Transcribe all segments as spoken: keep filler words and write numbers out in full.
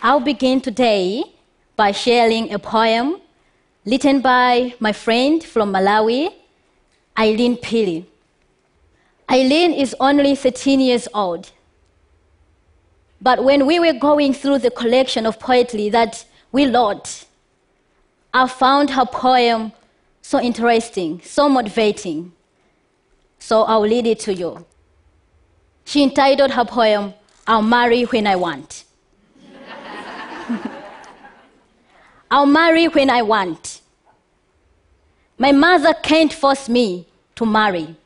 I'll begin today by sharing a poem written by my friend from Malawi, Eileen Pili. Eileen is only thirteen years old. But when we were going through the collection of poetry that we wrote, I found her poem so interesting, so motivating. So I'll read it to you. She entitled her poem, I'll Marry When I Want. I'll marry when I want. My mother can't force me to marry.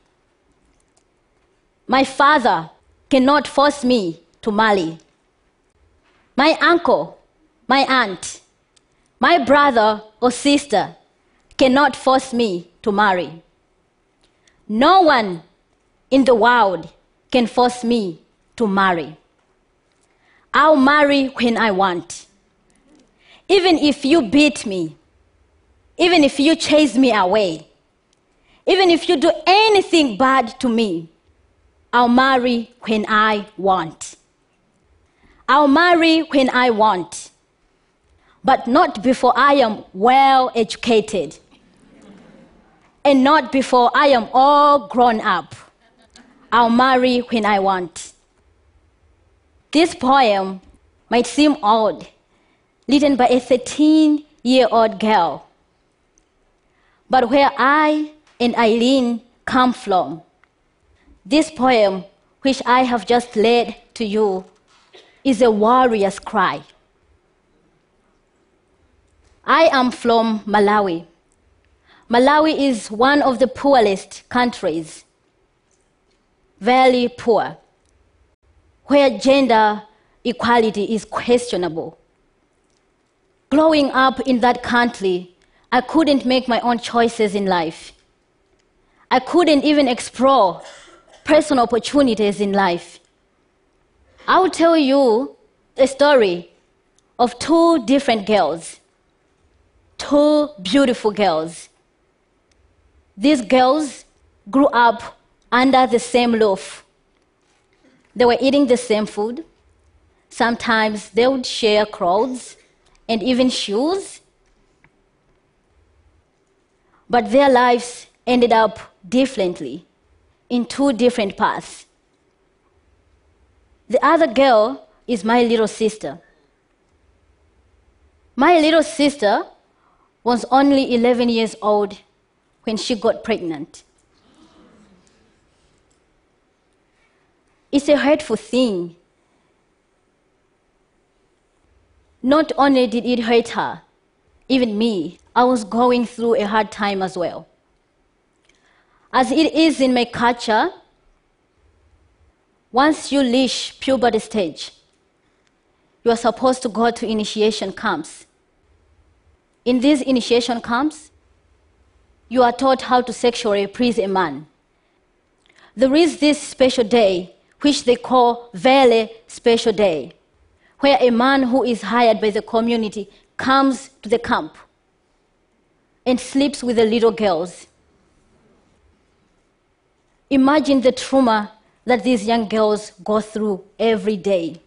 My father cannot force me to marry. My uncle, my aunt, my brother or sister cannot force me to marry. No one in the world can force me to marry. I'll marry when I want. Even if you beat me, even if you chase me away, even if you do anything bad to me, I'll marry when I want. I'll marry when I want, but not before I am well educated, and not before I am all grown up. I'll marry when I want. This poem might seem odd, written by a thirteen-year-old girl. But where I and Eileen come from, this poem, which I have just read to you, is a warrior's cry. I am from Malawi. Malawi is one of the poorest countries, very poor, where gender equality is questionable. Growing up in that country, I couldn't make my own choices in life. I couldn't even explore personal opportunities in life. I will tell you a story of two different girls, two beautiful girls. These girls grew up under the same roof. They were eating the same food. Sometimes they would share clothes and even shoes. But their lives ended up differently, in two different paths. The other girl is my little sister. My little sister was only eleven years old when she got pregnant. It's a hurtful thing. Not only did it hurt her, even me, I was going through a hard time as well. As it is in my culture, once you reach puberty stage, you are supposed to go to initiation camps. In these initiation camps, you are taught how to sexually please a man. There is this special day, which they call Vele Special Day, where a man who is hired by the community comes to the camp and sleeps with the little girls. Imagine the trauma that these young girls go through every day.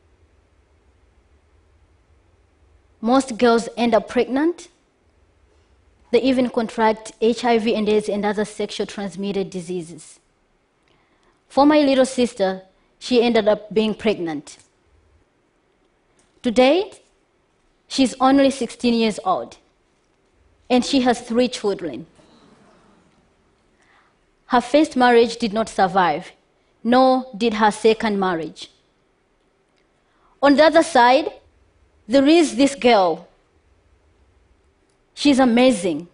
Most girls end up pregnant. They even contract H I V and AIDS and other sexually transmitted diseases. For my little sister, she ended up being pregnant. Today, she's only sixteen years old, and she has three children. Her first marriage did not survive, nor did her second marriage. On the other side, there is this girl. She's amazing.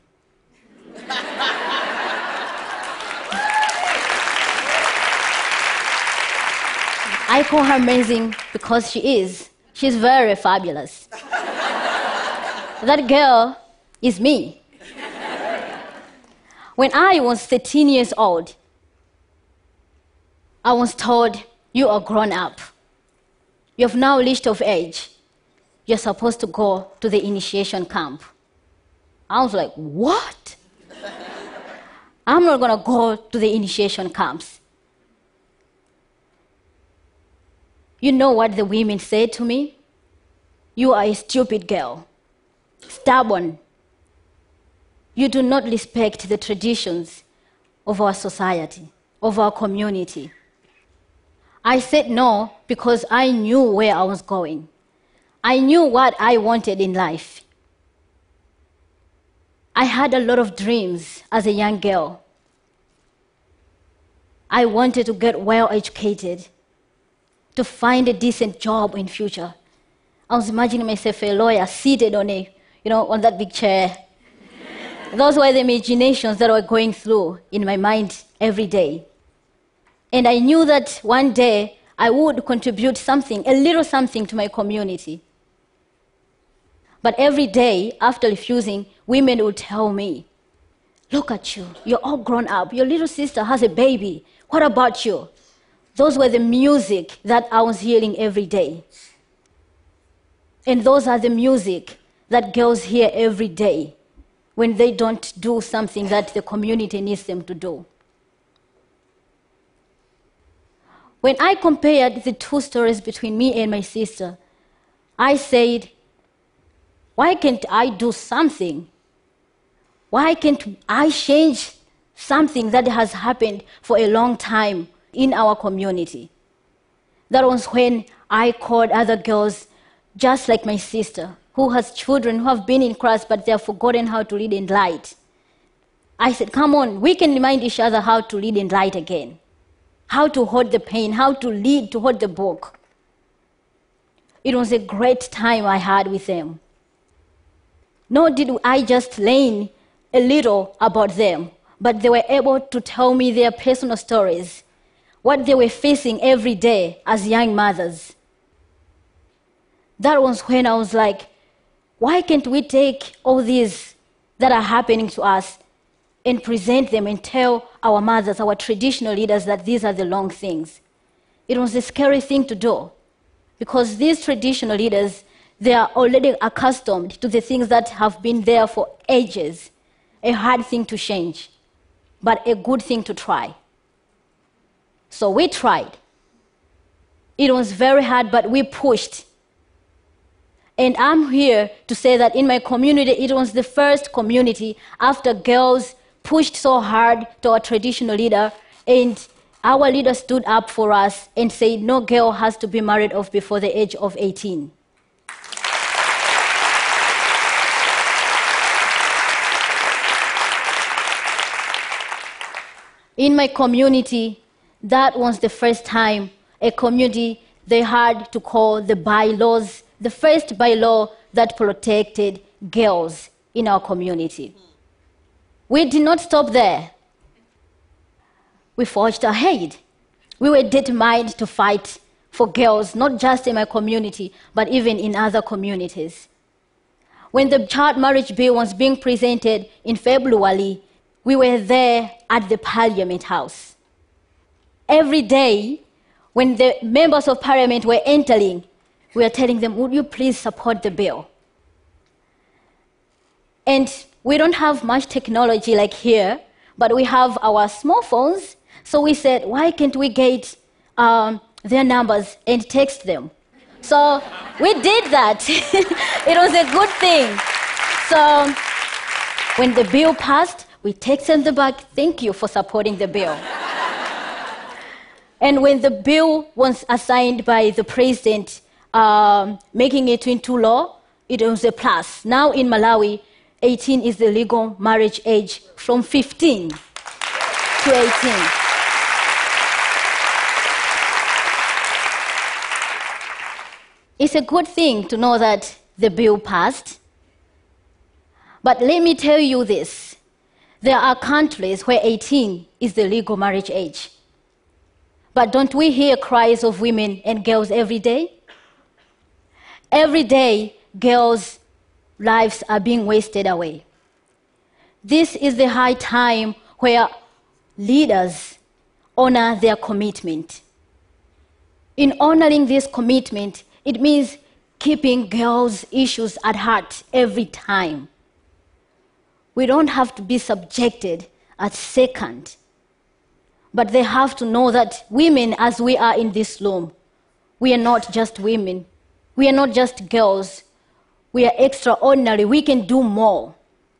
I call her amazing because she is. She's very fabulous. That girl is me. When I was thirteen years old, I was told, you are grown up. You have now reached of age. You're supposed to go to the initiation camp. I was like, what? I'm not going to go to the initiation camps. You know what the women said to me? you are a stupid girl, stubborn. You do not respect the traditions of our society, of our community. I said no because I knew where I was going. I knew what I wanted in life. I had a lot of dreams as a young girl. I wanted to get well educated, to find a decent job in future. I was imagining myself a lawyer seated on a, you know, on that big chair. Those were the imaginations that were going through in my mind every day. And I knew that one day I would contribute something, a little something to my community. But every day after refusing, women would tell me, look at you, you're all grown up, your little sister has a baby, what about you? Those were the music that I was hearing every day. And those are the music that girls hear every day when they don't do something that the community needs them to do. When I compared the two stories between me and my sister, I said, why can't I do something? Why can't I change something that has happened for a long time in our community? That was when I called other girls just like my sister, who has children who have been in Christ, but they have forgotten how to read and write. I said, come on, we can remind each other how to read and write again, how to hold the pen, how to read, to hold the book. It was a great time I had with them. Nor did I just learn a little about them, but they were able to tell me their personal stories, what they were facing every day as young mothers. That was when I was like, why can't we take all these that are happening to us and present them and tell our mothers, our traditional leaders, that these are the wrong things? It was a scary thing to do because these traditional leaders, they are already accustomed to the things that have been there for ages. A hard thing to change, but a good thing to try. So we tried. It was very hard, but we pushed. And I'm here to say that in my community, it was the first community after girls pushed so hard to our traditional leader, and our leader stood up for us and said, no girl has to be married off before the age of eighteen. In my community, that was the first time a community they had to call the bylaws, the first bylaw that protected girls in our community. We did not stop there. We forged ahead. We were determined to fight for girls, not just in my community, but even in other communities. When the child marriage bill was being presented in February, we were there at the Parliament House. Every day, when the members of Parliament were entering, we were telling them, would you please support the bill? And we don't have much technology like here, but we have our small phones. So we said, why can't we get um, their numbers and text them? So we did that. It was a good thing. So when the bill passed, we texted them back, thank you for supporting the bill. And when the bill was assigned by the president, um, making it into law, it was a plus. Now in Malawi, eighteen is the legal marriage age from fifteen to eighteen. It's a good thing to know that the bill passed. But let me tell you this. There are countries where eighteen is the legal marriage age. But don't we hear cries of women and girls every day? Every day, girls' lives are being wasted away. This is the high time where leaders honor their commitment. In honoring this commitment, it means keeping girls' issues at heart every time. We don't have to be subjected at second, but they have to know that women, as we are in this room, we are not just women. We are not just girls. We are extraordinary. We can do more.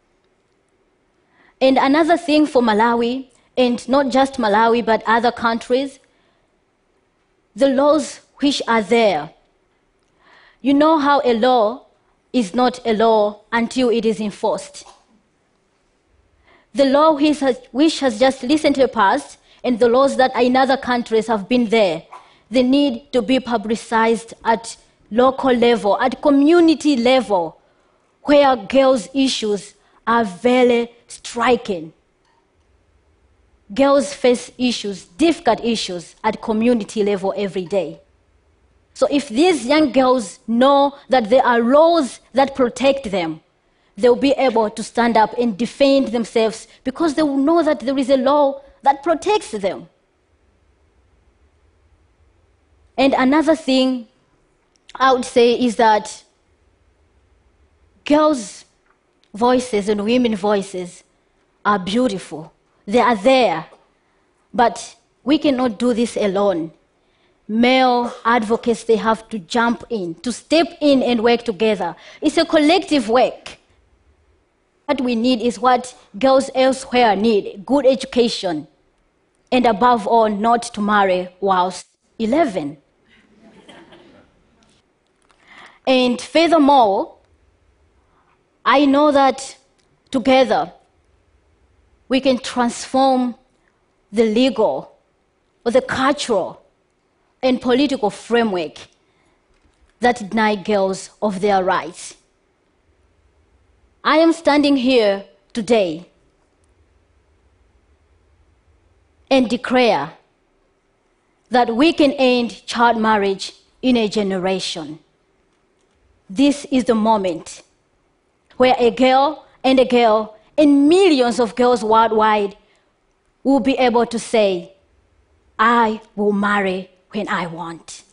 And another thing for Malawi, and not just Malawi, but other countries, the laws which are there. You know how a law is not a law until it is enforced. The law which has, which has just recently passed, and the laws that in other countries have been there, they need to be publicized at local level, at community level, where girls' issues are very striking. Girls face issues, difficult issues, at community level every day. So if these young girls know that there are laws that protect them, they'll be able to stand up and defend themselves because they will know that there is a law that protects them. And another thing I would say is that girls' voices and women's voices are beautiful. They are there, but we cannot do this alone. Male advocates, they have to jump in, to step in and work together. It's a collective work. What we need is what girls elsewhere need, good education, and above all, not to marry whilst eleven. And furthermore, I know that together we can transform the legal or the cultural and political framework that deny girls of their rights. I am standing here today and declare that we can end child marriage in a generation. This is the moment where a girl and a girl and millions of girls worldwide will be able to say, I will marry when I want.